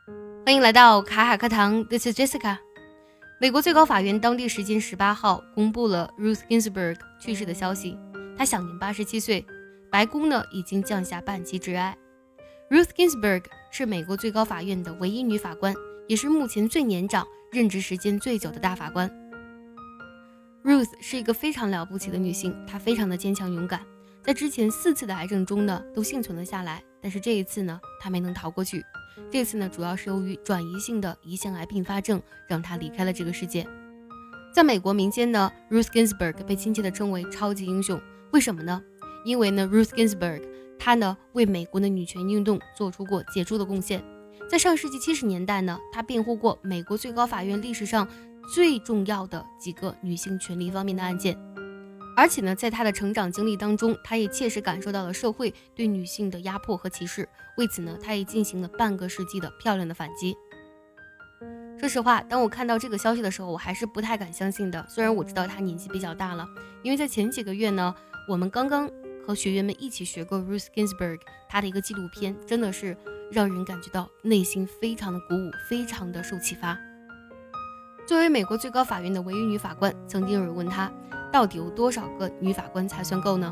欢迎来到卡卡课堂 ，This is Jessica。美国最高法院当地时间18号公布了 Ruth Ginsburg 去世的消息，她享年87岁，白宫呢已经降下半旗致哀。Ruth Ginsburg 是美国最高法院的唯一女法官，也是目前最年长、任职时间最久的大法官。Ruth 是一个非常了不起的女性，她非常的坚强勇敢，在之前4次的癌症中呢都幸存了下来，但是这一次呢她没能逃过去。这次呢主要是由于转移性的胰腺癌并发症让她离开了这个世界。在美国民间呢 Ruth Ginsburg 被亲切地称为超级英雄，为什么呢？因为呢 Ruth Ginsburg 她呢为美国的女权运动做出过杰出的贡献。在上世纪70年代呢，她辩护过美国最高法院历史上最重要的几个女性权利方面的案件，而且呢，在她的成长经历当中，她也切实感受到了社会对女性的压迫和歧视，为此呢，她也进行了半个世纪的漂亮的反击。说实话，当我看到这个消息的时候，我还是不太敢相信的。虽然我知道她年纪比较大了，因为在前几个月呢，我们刚刚和学员们一起学过 Ruth Ginsburg 她的一个纪录片，真的是让人感觉到内心非常的鼓舞，非常的受启发。作为美国最高法院的唯一女法官，曾经有人问她，到底有多少个女法官才算够呢？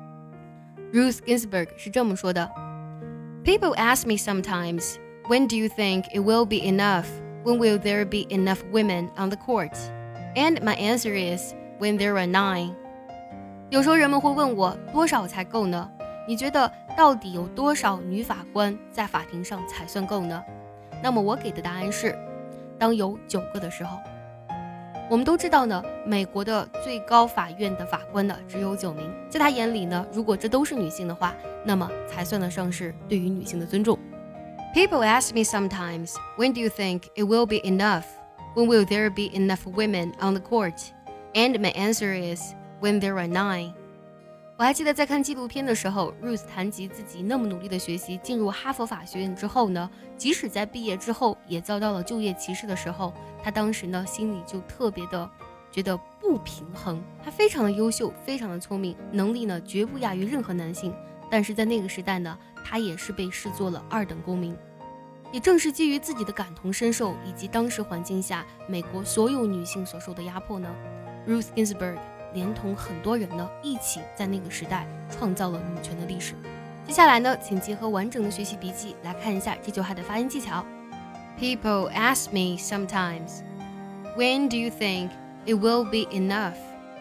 Ruth Ginsburg 是这么说的： People ask me sometimes, when do you think it will be enough? When will there be enough women on the court? And my answer is, when there are 9. 有时候人们会问我，多少才够呢？你觉得到底有多少女法官在法庭上才算够呢？那么我给的答案是，当有9个的时候。我们都知道呢，美国的最高法院的法官呢只有9名，在他眼里呢，如果这都是女性的话，那么才算得上是对于女性的尊重。People ask me sometimes, when do you think it will be enough? When will there be enough women on the court? And my answer is, when there are 9. 我还记得在看纪录片的时候 Ruth 谈及自己那么努力的学习，进入哈佛法学院之后呢，即使在毕业之后也遭到了就业歧视的时候，他当时呢心里就特别的觉得不平衡。他非常的优秀，非常的聪明，能力呢绝不亚于任何男性，但是在那个时代呢，他也是被视作了2等公民。也正是基于自己的感同身受，以及当时环境下美国所有女性所受的压迫呢， Ruth Ginsburg 连同很多人呢一起在那个时代创造了女权的历史。接下来呢，请结合完整的学习笔记来看一下这句话的发音技巧。 People ask me sometimes, when do you think it will be enough?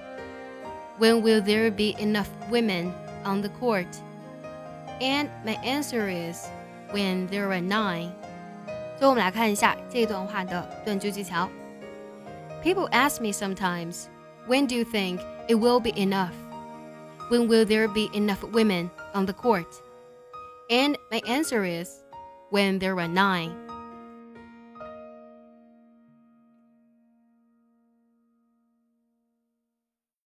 When will there be enough women on the court? And my answer is, when there are 9. 最后我们来看一下这段话的断句技巧。 People ask me sometimes, when do you think it will be enough? When will there be enough women on the court? And my answer is, when there are 9.